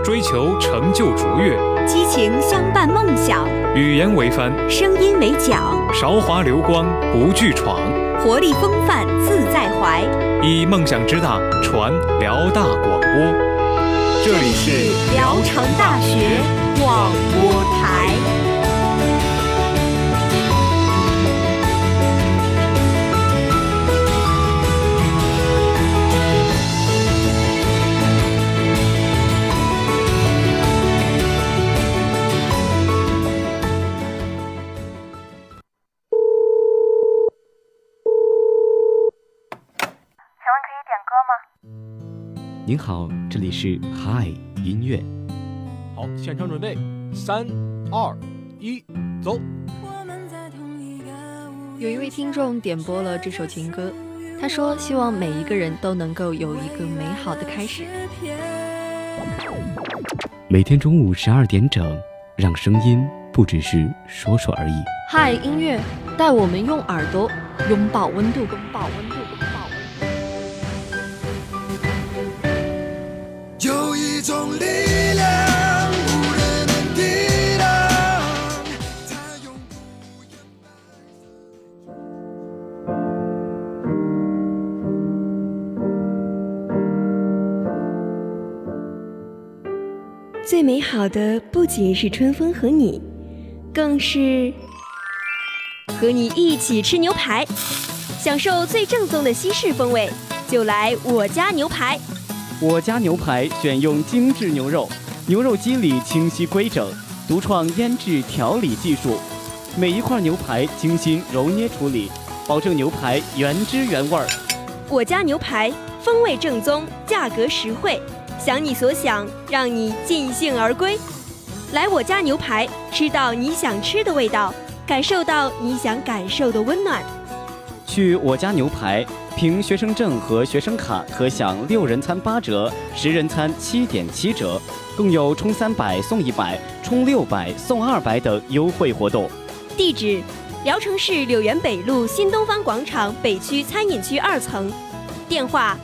追求成就卓越， 激情相伴梦想， 语言为帆， 声音为桨， 韶华流光不惧闯， 活力风范自在怀， 以梦想之大传辽大广播。这里是聊城大学广播台。 您好，这里是 Hi 音乐。 好，现场准备，3、2、1，走。 有一位听众点播了这首情歌，他说希望每一个人都能够有一个美好的开始。 每天中午12点整，让声音不只是说说而已。 Hi 音乐，带我们用耳朵拥抱温度，拥抱温度。 有一种力量无人能抵挡，它永不言败。最美好的不仅是春风和你，更是和你一起吃牛排，享受最正宗的西式风味，就来我家牛排。 我家牛排选用精致牛肉，牛肉肌理清晰规整，独创腌制调理技术，每一块牛排精心揉捏处理，保证牛排原汁原味儿。 我家牛排风味正宗，价格实惠，想你所想，让你尽兴而归。来我家牛排，吃到你想吃的味道，感受到你想感受的温暖。 去我家牛排，凭学生证和学生卡可享6人餐8折，10人餐7.7折，更有充300送100，充600送200等优惠活动。 地址：聊城市柳园北路新东方广场北区餐饮区2层，电话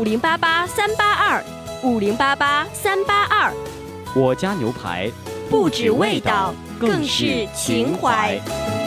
5088-382，5088-382。 我家牛排， 不止味道，更是情怀。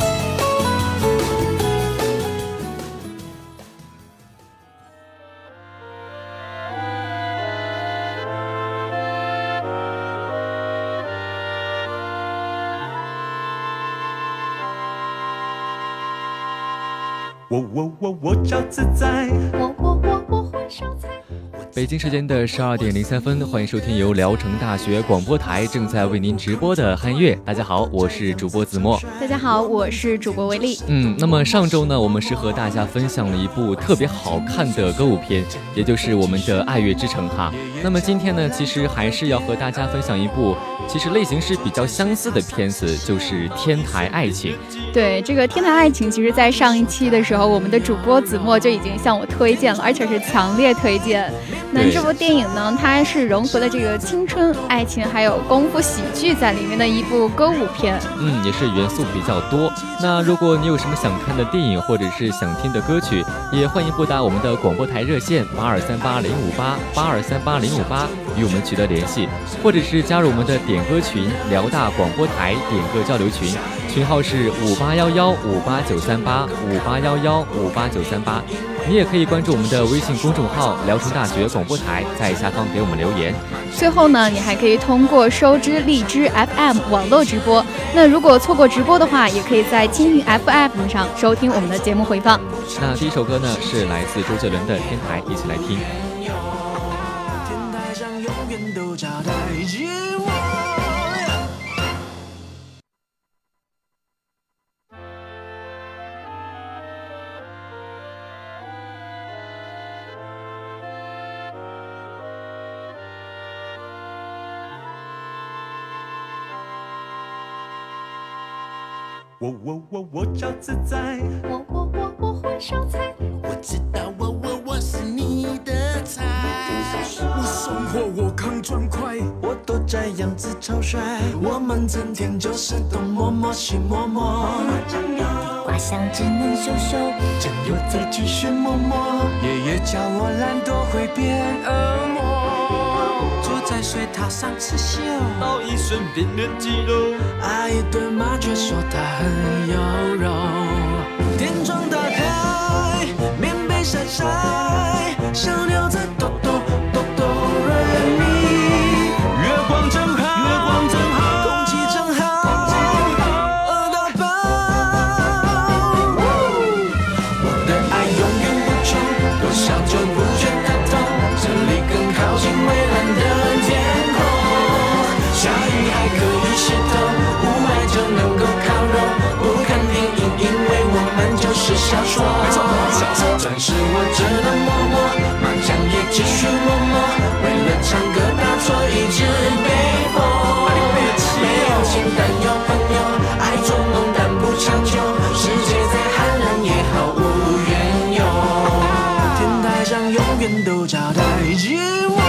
我找自在，我会烧菜。 北京时间的12点03分，欢迎收听由聊城大学广播台正在为您直播的汉乐。大家好，我是主播子墨。 大家好，我是主播维丽。 那么上周呢，我们是和大家分享了一部特别好看的歌舞片，也就是我们的《爱乐之城》哈。那么今天呢，其实还是要和大家分享一部其实类型是比较相似的片子，就是《天台爱情》。 对，这个《天台爱情》，其实在上一期的时候，我们的主播子墨就已经向我推荐了，而且是强烈推荐。那这部电影呢，它是融合了这个青春、爱情还有功夫喜剧在里面的一部歌舞片。 也是元素比较多。那如果你有什么想看的电影或者是想听的歌曲，也欢迎拨打我们的广播台热线8238-058，8238-058与我们取得联系，或者是加入我们的点歌群辽大广播台点歌交流群，群号是5811-58938，5811-58938。你也可以关注我们的微信公众号聊城大学广播台，在下方给我们留言。 最后呢，你还可以通过收知荔枝 FM 网络直播。那如果错过直播的话，也可以在蜻蜓 FM 上收听我们的节目回放。 那第一首歌呢，是来自周杰伦的《天台》，一起来听。 天台上永远都招待着我。我找自在，我会烧菜，我知道我是你的菜。我送货，我扛砖块，我都这样子超帅。我们整天就是东摸摸西摸摸， 挂上只能秀秀， 真有再继续摸摸。爷爷叫我懒惰会变恶魔，住在再随他上刺绣， 到一身冰冷肌肉。 爱一顿麻雀说他很有肉。天窗打开，棉被晒晒，小鸟在哆哆哆哆瑞咪。月光真好，月光真好，空气真好，饿到饱。我的爱永远不穷，多少就不觉得痛。这里更靠近蔚蓝的天空，下雨还可以洗头，雾霾就能够烤肉。不看电影，因为我们就是小说。暂时我只能默默，麻将也继续默默。为了唱歌打错一直被封。没有情但有朋友，爱捉弄但不长久。世界再寒冷也毫无缘由。天台上永远都交代寂寞。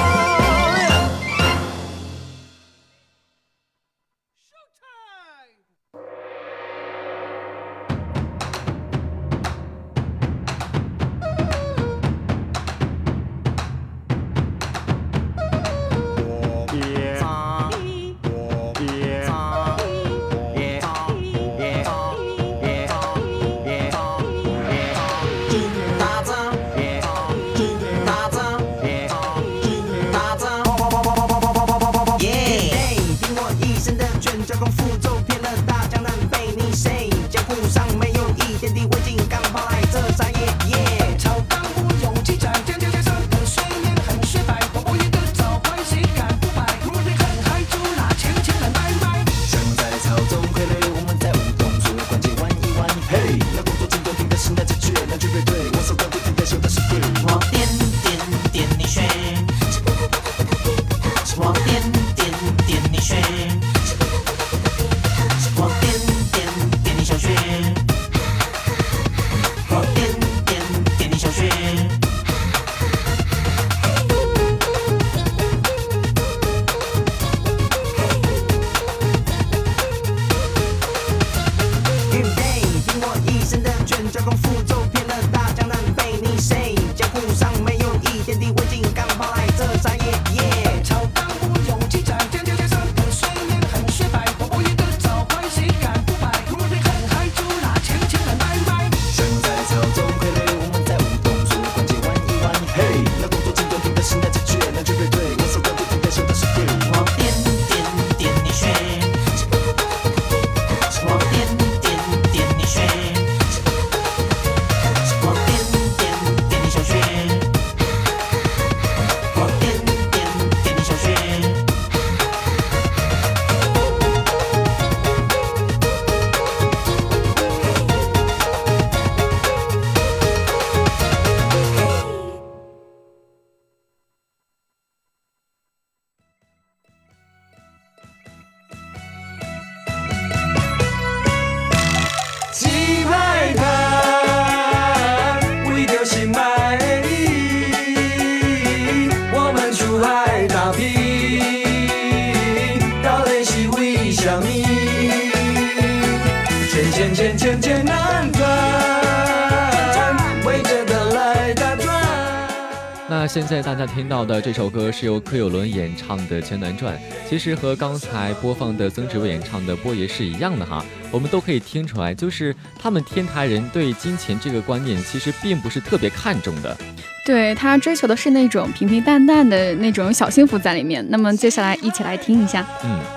那现在大家听到的这首歌是由柯有伦演唱的《钱南传》，其实和刚才播放的曾志伟演唱的《波爷》是一样的哈。我们都可以听出来，就是他们天台人对金钱这个观念其实并不是特别看重的。 对，他追求的是那种平平淡淡的那种小幸福在里面。那么接下来一起来听一下。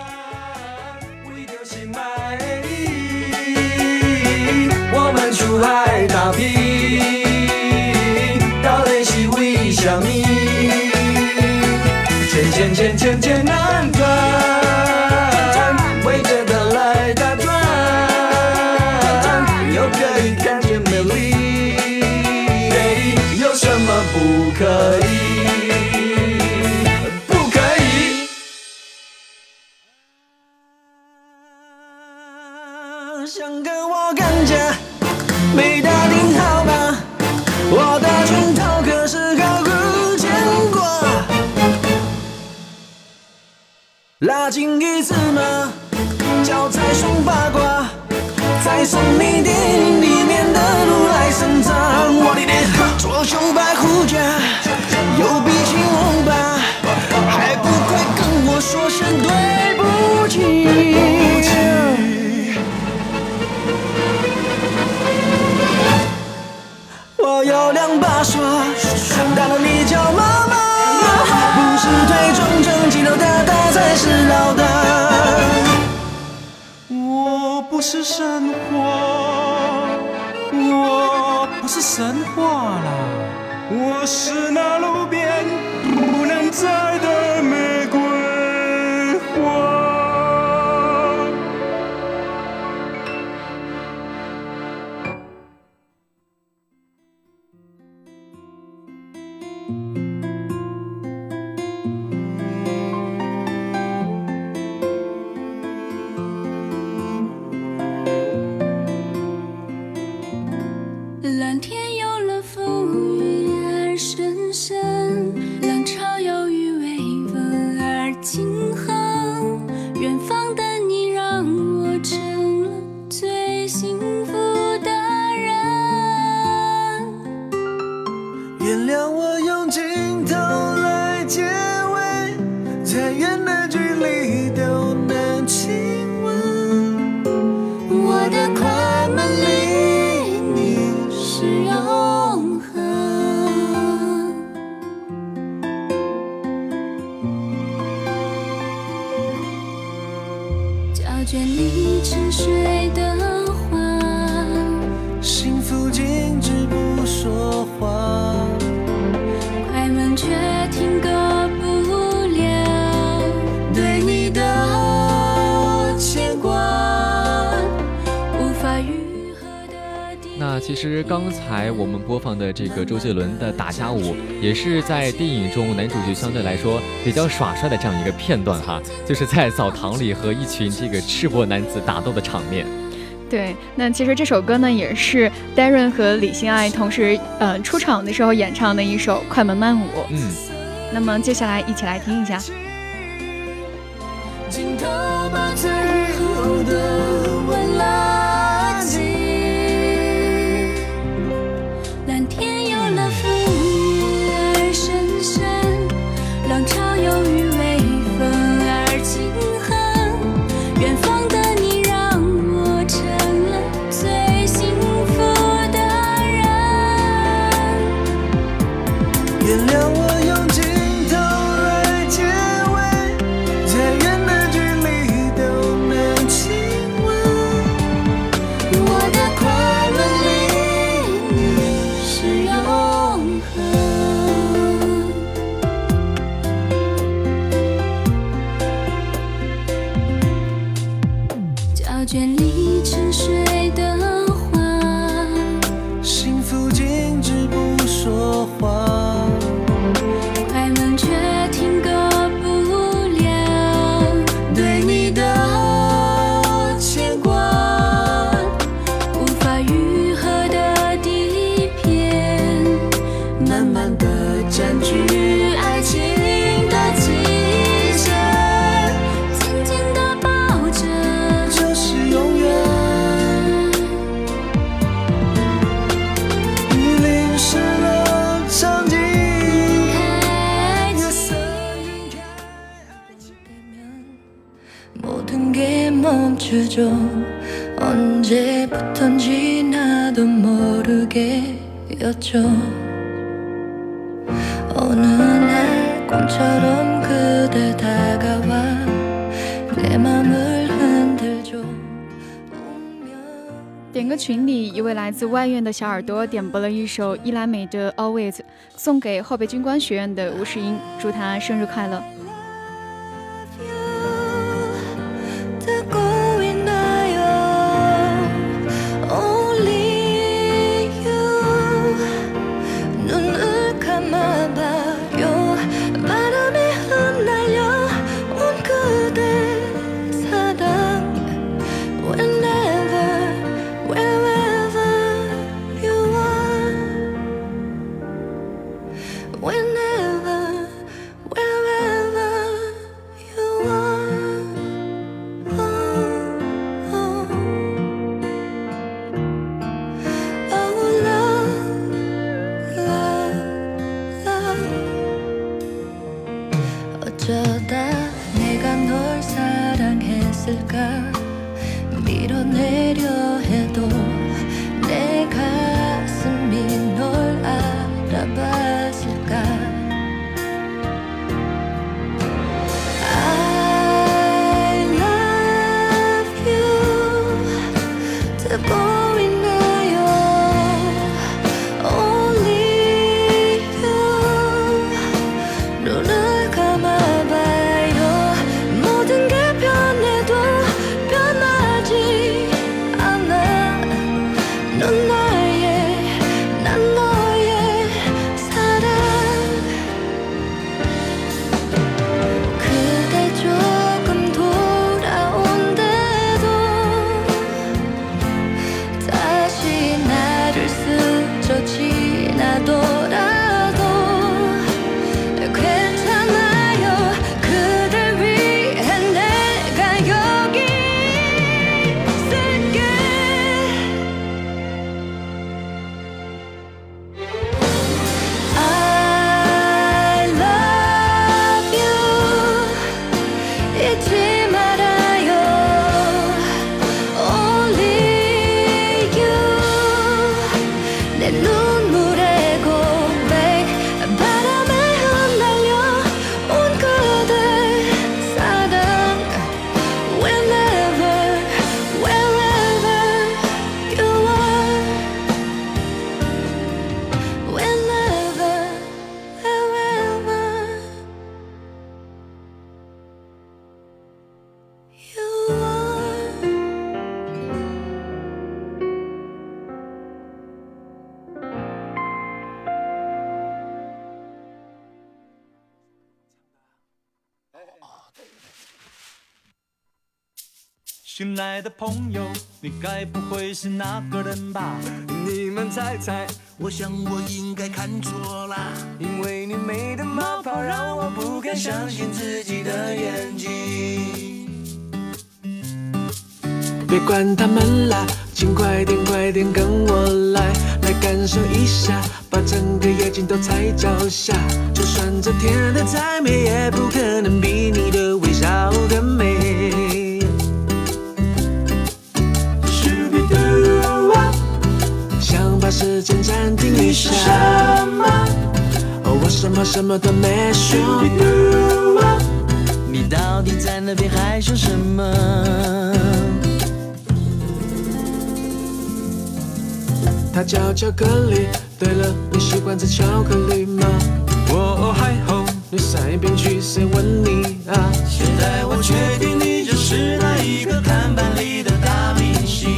我们出海打拼，到底是为什么？钱难赚，围着它来打转，又可以看见美丽，有什么不可以？不可以。想跟我干架，没打听好吧？我的拳头可是毫无牵挂。拉近一次嘛，脚踩双八卦，再送你电影里面的如来神掌。我的脸，左胸白虎甲，右比青龙吧，还不快是神话，我不是神话啦，我是那路边不能摘的玫瑰花。 蓝天有了风雨而深深，浪潮有雨微风而轻哼，远方的你让我成了最幸福的人。 原谅我用镜头来结尾，再远的距离都能亲吻。 我的快门里你是永恒，胶卷里沉睡的花， 幸福静止不说话， 快门却停格不了对你的牵挂，无法愈合的地。 那其实刚才我们播放的这个周杰伦的打架舞，也是在电影中男主角相对来说比较耍帅的这样一个片段哈，就是在澡堂里和一群这个赤膊男子打斗的场面。 对，那其实这首歌呢，也是 Darren 和李心爱同时出场的时候演唱的一首快门慢舞。那么接下来一起来听一下。 镜头把最后的吻拉近，蓝天有了风雨而深深，浪潮有雨微风而轻哼，远方的你让我成了最幸福的人。 原谅我用镜头来结尾，再远的距离都能亲吻。 我的快门里你是永恒，胶卷里沉睡的花， 幸福静止不说话， 快门却停格不了对你的牵挂，无法愈合的底片，慢慢地占据爱情的基线，紧紧地抱着就是永远。你淋湿了场景，夜色晕开爱情되면 모든 게 멈추죠. 언제부턴지 나도 모르게였죠. 어느 날 꿈처럼 그대 다가와 내 맘을 흔들죠. 点歌群里，一位来自外院的小耳朵点播了一首伊兰美的 Always， 送给后备军官学院的吴世英，祝他生日快乐。 듣고 있나요? Only you. 눈을 감아봐요. 바람에 흩날려 온 그대 사랑. Whenever, wherever you are. Whenever, wherever you are. 어쩌다 내가 널 사랑했을까 밀어내려 해도 내 가슴이 널 알아봤을까 I love you 新来的朋友，你该不会是那个人吧？ 你们猜猜， 我想我应该看错了， 因为你美的冒泡让我不敢相信自己的眼睛。 别管他们啦，请快点快点跟我来，来感受一下，把整个夜景都踩脚下。就算这天的再美，也不可能比你的微笑更美。想把时间暂停一下，我什么什么都没说。 你到底在那边害羞什么？ 它叫巧克力。对了，你喜欢吃巧克力吗？我还好，你塞边去谁问你啊？ 现在我确定你就是那一个看板里的大明星，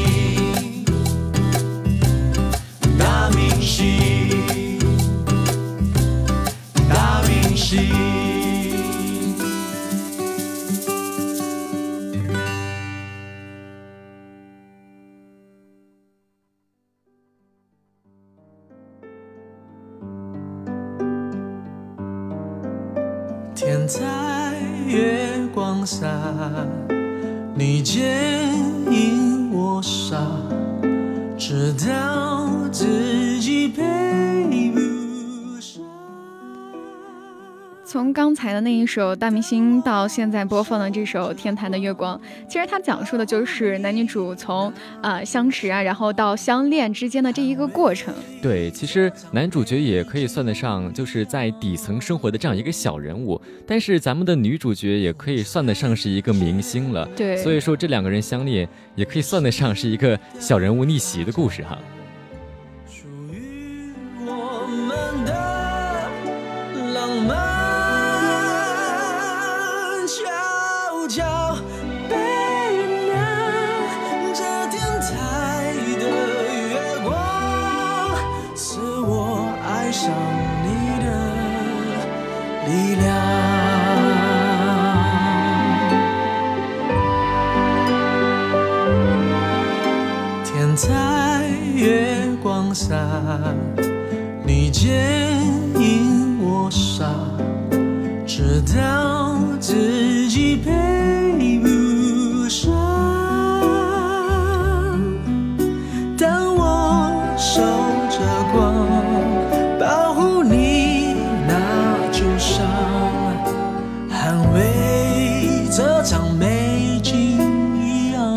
大明星，大明星。 天在月光下，你牵引我傻，直到自己配不上。 从刚才的那一首《大明星》到现在播放的这首《天坛的月光》，其实它讲述的就是男女主从相识啊，然后到相恋之间的这一个过程。 对，其实男主角也可以算得上就是在底层生活的这样一个小人物，但是咱们的女主角也可以算得上是一个明星了。 对， 所以说这两个人相恋也可以算得上是一个小人物逆袭的故事哈。 属于我们的浪漫。在月光下，你牵引我傻，直到自己配不上。当我守着光，保护你那旧伤，捍卫这场美景一样。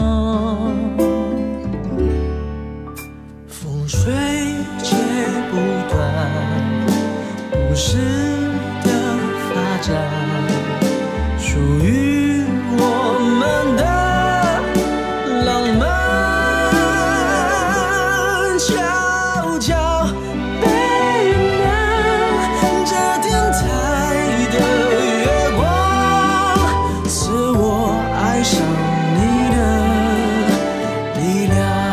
吹切不断，不时的发展，属于我们的浪漫，悄悄背亮这天台的月光，是我爱上你的力量。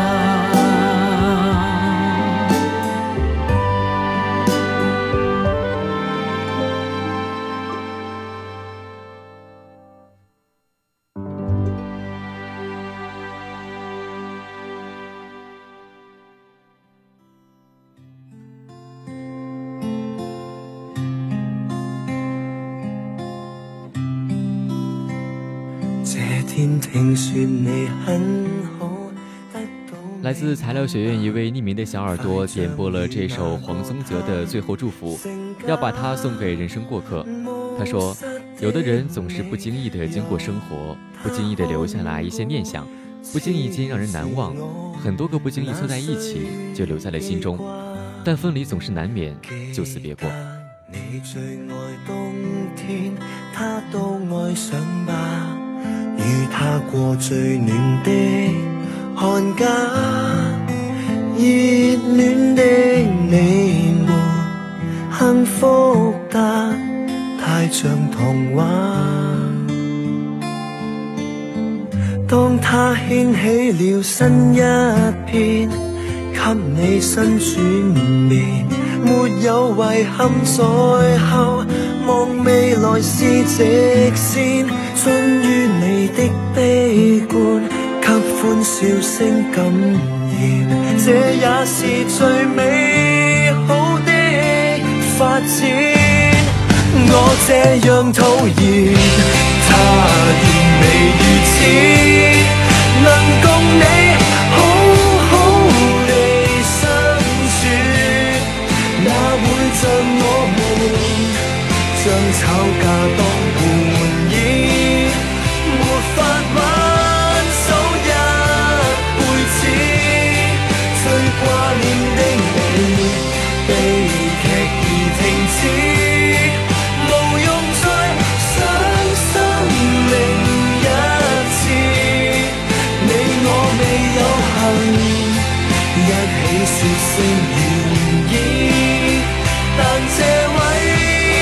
来自材料学院一位匿名的小耳朵点播了这首黄宗泽的《最后祝福》，要把它送给人生过客。他说，有的人总是不经意地经过生活，不经意地留下来一些念想，不经意间让人难忘，很多个不经意凑在一起就留在了心中，但分离总是难免，就此别过。 你最愛冬天，他都愛上吧，與他過最暖的寒假，熱戀的你們幸福得太像童話。當他掀起了新一篇，給你新轉面，沒有遺憾在後，望未來是直線，終於你的悲觀，給歡笑聲感染，這也是最美好的發展。我這樣討厭，他仍未如此，能共你好好地相處，哪會像我們將吵架當玩意，沒法挽手一輩子，最掛念的你，悲劇已停止。說聲願意，但這位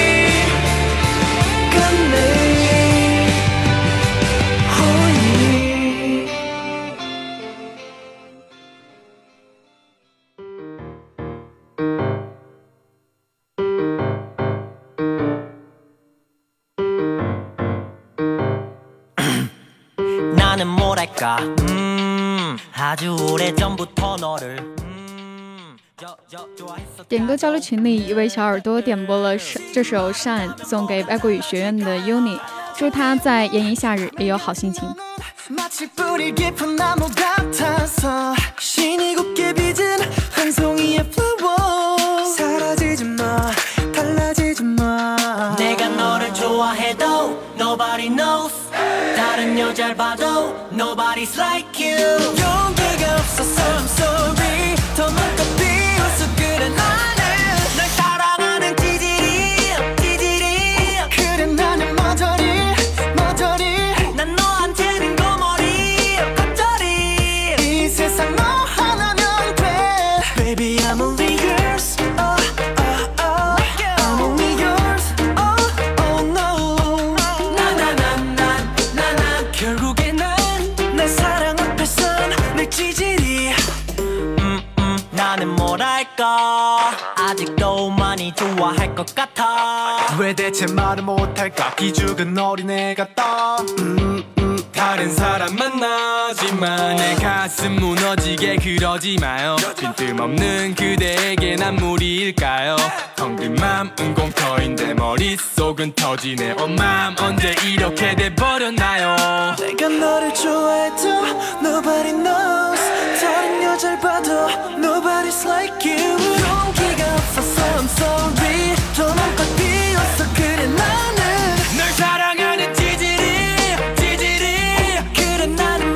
跟你可以。나는 뭐랄까 아주 오래전부터 너를 点歌交流群里，一位小耳朵点播了这首《Shine》，送给外国语学院的 Uni， 祝他在炎炎夏日也有好心情。 마치 뿌리 깊은 나무 같아서 신이 곱게 빚은 한 송이의 flower 사라지지 마 달라지지 마 내가 너를 좋아해도 nobody knows 다른 여자를 봐도 nobody's like you 용기가 없어서 I'm sorry 더 많고 비웃어 그래 나는 널 사랑하는 찌질이 그래 나는 머저리 난 너한테는 세상 너 하나면 돼 Baby I'm only yours oh, oh, oh. I'm only yours oh, oh no 난 결국에 날 사랑 앞에선 내 찌질이 나는 뭐랄까 아직도 많이 좋아할 것 같아 왜 대체 말을 못할까 기죽은 어린애 같다 다른 사람 만나지만 내 가슴 무너지게 그러지 마요 빈틈없는 그대에게 난 무리일까요 텅 빈 맘은 공터인데 머릿속은 터지네 맘 언제 이렇게 돼버렸나요 내가 너를 좋아해도 nobody knows 다른 여자를 봐도 nobody's like you 용기가 없어서 I'm sorry 더 많고 비웃어 그래 나는 널 사랑하는 찌질이 나는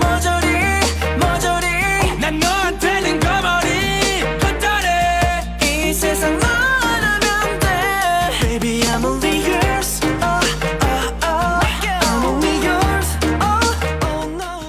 머저리 난 너한테는 거머리 헛다리 이 세상 너 하나면 돼 Baby I'm only yours oh, oh, oh. I'm only yours oh, oh no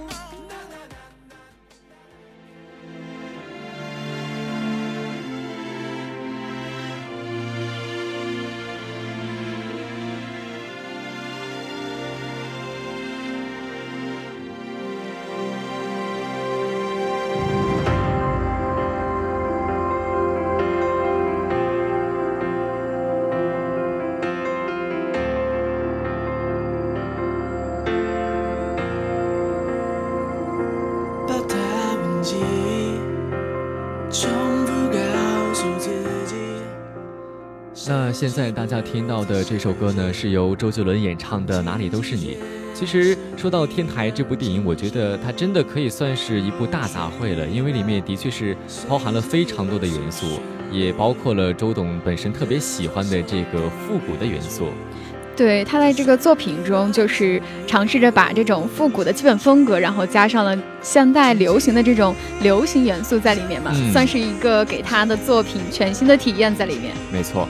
那现在大家听到的这首歌呢，是由周杰伦演唱的《哪里都是你》。其实说到天台这部电影，我觉得它真的可以算是一部大杂烩了，因为里面的确是包含了非常多的元素，也包括了周董本身特别喜欢的这个复古的元素。 对，他在这个作品中就是尝试着把这种复古的基本风格，然后加上了现代流行的这种流行元素在里面嘛，算是一个给他的作品全新的体验在里面。 没错。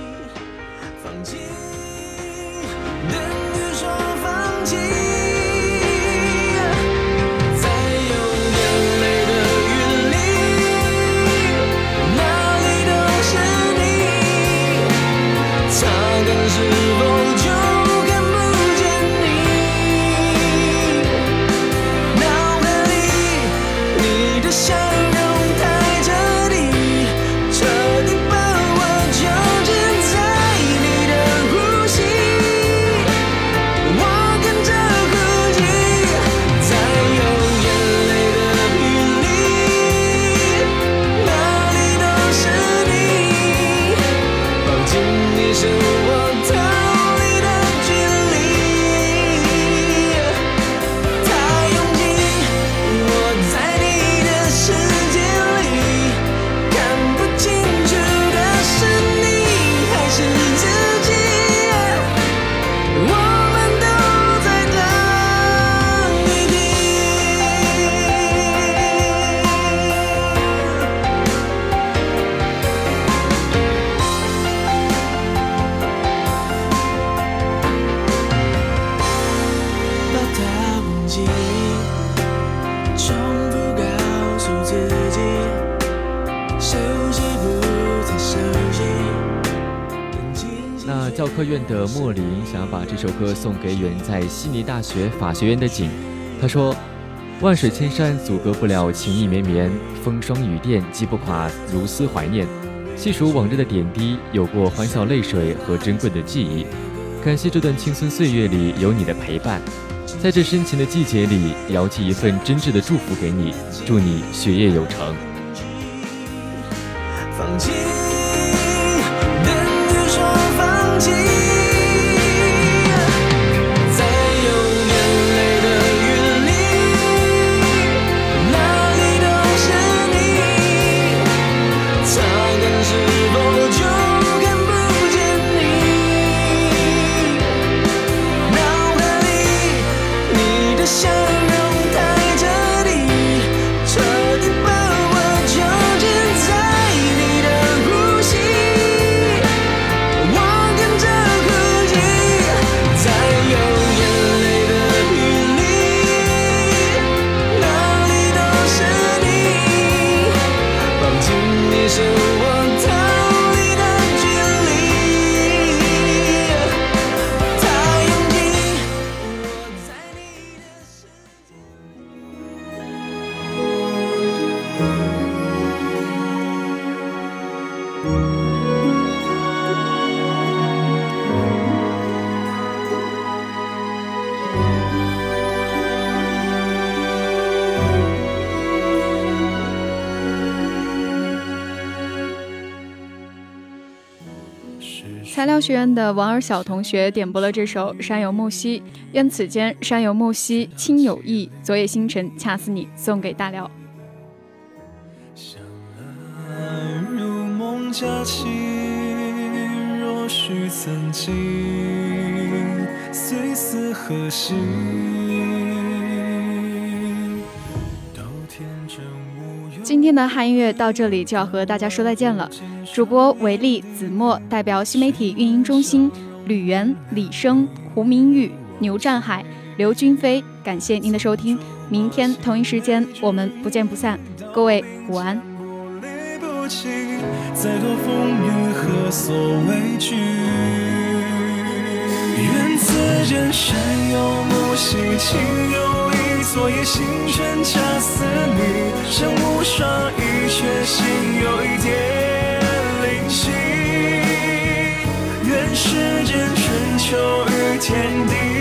笑容太这里，彻底把我囚禁。 教科院的莫林想要把这首歌送给远在悉尼大学法学院的景。他说：万水千山阻隔不了情意绵绵，风霜雨电击不垮如斯怀念。细数往日的点滴，有过欢笑泪水和珍贵的记忆。感谢这段青春岁月里有你的陪伴，在这深情的季节里，遥寄一份真挚的祝福给你，祝你学业有成。 放弃，等于说放弃。 材料学院的王尔晓同学点播了这首《山有木兮》，愿此间山有木兮亲有意，昨夜星辰恰似你，送给大辽。 如梦佳期，若许曾经，虽似何夕。 今天的汉音乐到这里就要和大家说再见了。主播维利、子墨代表新媒体运营中心，吕源、李生、胡明玉、牛占海、刘君飞，感谢您的收听。明天同一时间我们不见不散。各位午安。 再多风雨何所畏惧？愿此间山有木兮情有意，昨夜星辰恰似你，身无双翼，却心有一点灵犀。愿世间春秋与天地